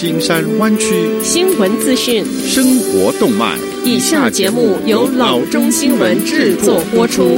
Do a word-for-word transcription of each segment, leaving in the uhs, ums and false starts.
金山灣區新聞資訊、 生活動脈。 以下節目由老中新聞製作播出。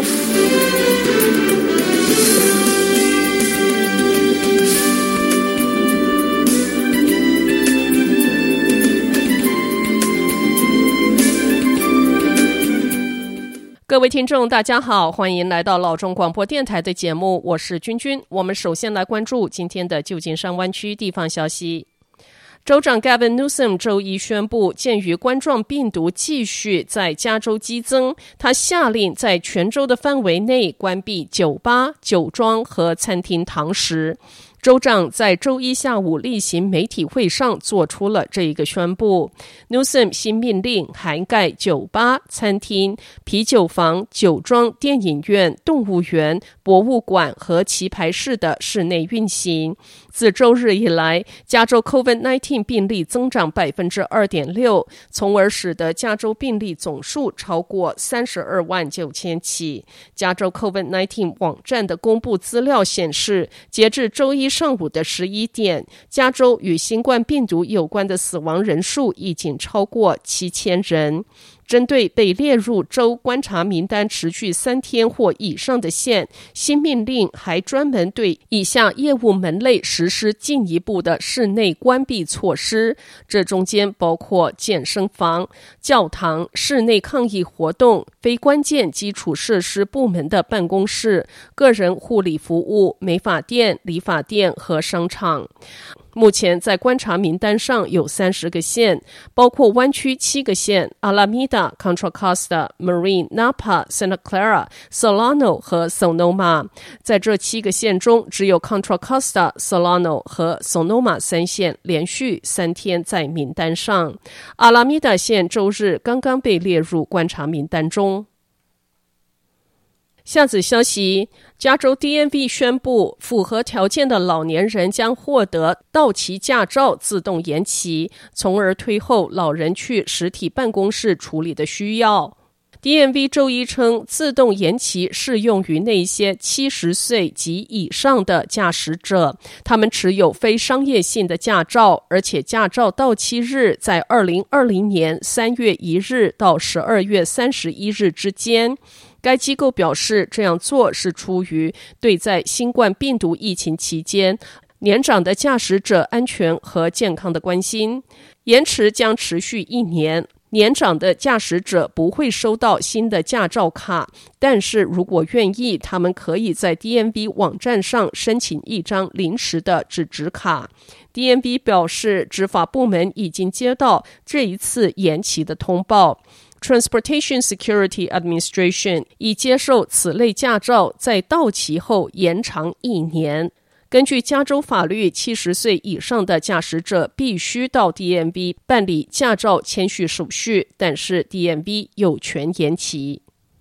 各位聽眾大家好，歡迎來到老中廣播電臺的節目，我是君君。我們首先來關注今天的舊金山灣區地方消息。州長 Gavin Newsom 周一宣布，鑑於冠狀病毒繼續在加州激增，他下令在全州的範圍內關閉酒吧、酒莊和餐廳堂食。州長在周一下午例行媒體會上做出了這一個宣布。Newsom 新命令涵蓋酒吧、餐廳、啤酒房、酒莊、電影院、動物園、博物館和棋牌室的室內運行。自周日以來，加州 COVID 十九 病例增長 百分之二點六， 從而使得加州病例總數超過三十二萬九千起。加州 COVID 十九 網站的公布資料顯示，截至周一上午的十一點，加州與新冠病毒有關的死亡人數已經超過七千人。針對被列入州觀察名單持續三天或以上的縣，新命令還專門對以下業務門類實施進一步的室內關閉措施，這中間包括健身房、教堂、室內抗議活動、非關鍵基礎設施部門的辦公室、個人護理服務、美髮店、理髮店和商場。目前在觀察名單上有三十個縣，包括灣區七個縣 Alameda、Contra Costa、Marine、Napa、Santa Clara、Solano 和 Sonoma。在這七個縣中，只有 Contra Costa、Solano 和 Sonoma 三縣連續三天在名單上。Alameda 縣周日剛剛被列入觀察名單中。下子消息，加州 D M V 宣布，符合條件的老年人將獲得到期駕照自動延期，從而推後老人去實體辦公室處理的需要。D M V 周一稱，自動延期適用於那些七十歲及以上的駕駛者，他們持有非商業性的駕照，而且駕照到期日在二零二零年三月一日到十二月三十一日之間。該機構表示，這樣做是出於對在新冠病毒疫情期間年長的駕駛者安全和健康的關心。延遲將持續一年，年長的駕駛者不會收到新的駕照卡，但是如果願意，他們可以在 D M V 網站上申請一張臨時的紙質卡。D M V 表示，執法部門已經接到這一次延期的通報。Transportation Security Administration 已接受此類駕照在到期後延長一年。根據加州法律，七十歲以上的駕駛者必須到 D M V 辦理駕照簽續手續，但是 D M V 有權延期。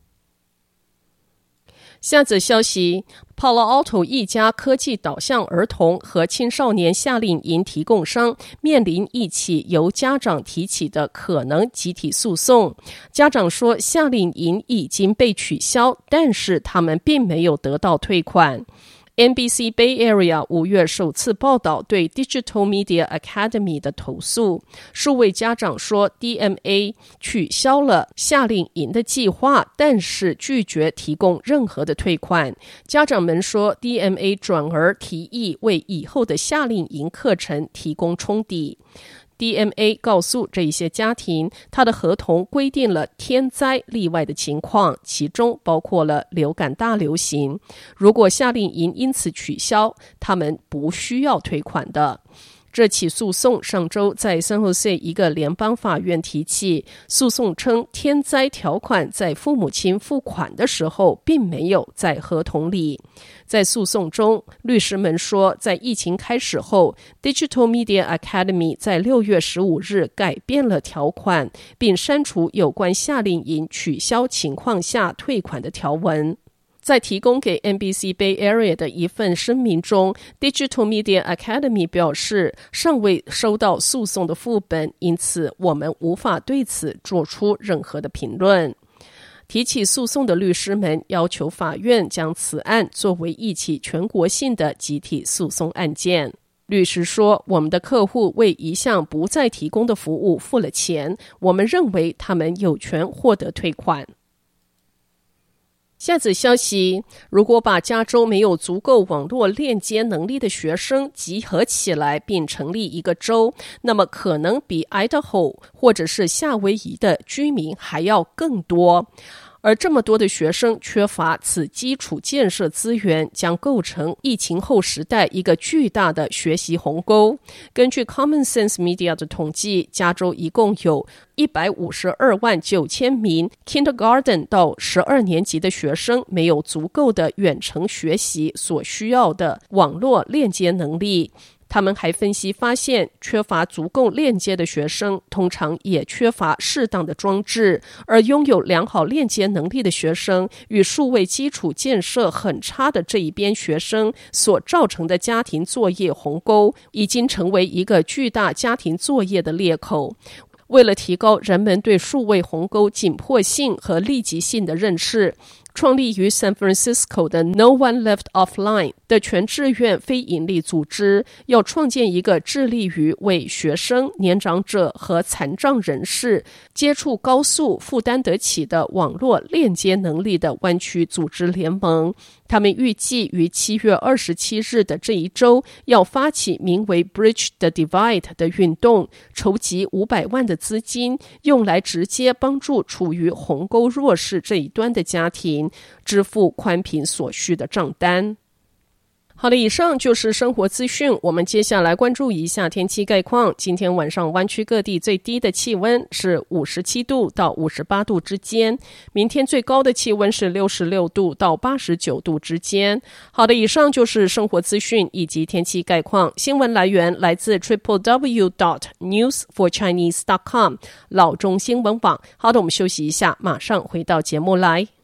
下則消息， Palo Alto 一家科技導向兒童和青少年夏令營提供商面臨一起由家長提起的可能集體訴訟。家長說，夏令營已經被取消，但是他們並沒有得到退款。N B C Bay Area 五月首次報道對 Digital Media Academy 的投訴，數位家長說 D M A 取消了夏令營的計劃，但是拒絕提供任何的退款。家長們說 D M A 轉而提議為以後的夏令營課程提供沖抵。D M A 告訴這些家庭，他的合同規定了天災例外的情況，其中包括了流感大流行。如果夏令營因此取消，他們不需要退款的。這起訴訟上周在 San Jose 一個聯邦法院提起，訴訟稱天災條款在父母親付款的時候並沒有在合同裡。在訴訟中，律師們說，在疫情開始後 Digital Media Academy 在六月十五日改變了條款，並刪除有關夏令營取消情況下退款的條文。在提供給 N B C Bay Area 的一份聲明中， Digital Media Academy 表示尚未收到訴訟的副本，因此我們無法對此做出任何的評論。提起訴訟的律師們要求法院將此案作為一起全國性的集體訴訟案件。 律師說，我們的客戶為一項不再提供的服務付了錢，我們認為他們有權獲得退款。下則消息，如果把加州沒有足夠網絡鏈接能力的學生集合起來並成立一個州，那麼可能比 Idaho 或者是夏威夷的居民還要更多。而這麼多的學生缺乏此基礎建設資源，將構成疫情後時代一個巨大的學習鴻溝。根據 Common Sense Media 的統計，加州一共有一百五十二萬九千名 Kindergarten 到十二年級的學生沒有足夠的遠程學習所需要的網絡鏈接能力。他們還分析發現，缺乏足夠鏈接的學生通常也缺乏適當的裝置，而擁有良好鏈接能力的學生與數位基礎建設很差的這一邊學生所造成的家庭作業鴻溝，已經成為一個巨大家庭作業的裂口。為了提高人們對數位鴻溝緊迫性和立即性的認識，創立於 San Francisco 的 No One Left Offline 的全志願非營利組織，要創建一個致力於為學生、年長者和殘障人士接觸高速、負擔得起的網絡鏈接能力的灣區組織聯盟。他們預計於七月二十七日的這一周，要發起名為 Bridge the Divide 的運動，籌集五百萬的資金，用來直接幫助處於鴻溝弱勢這一端的家庭支付寬頻所需的賬單。好的，以上就是生活資訊。我們接下來關注一下天氣概況。今天晚上灣區各地最低的氣溫是五十七度到五十八度之間，明天最高的氣溫是六十六度到八十九度之間。好的，以上就是生活資訊以及天氣概況。新聞來源來自 triple w dot news for chinese dot com 老中新聞網。好的，我們休息一下，馬上回到節目來。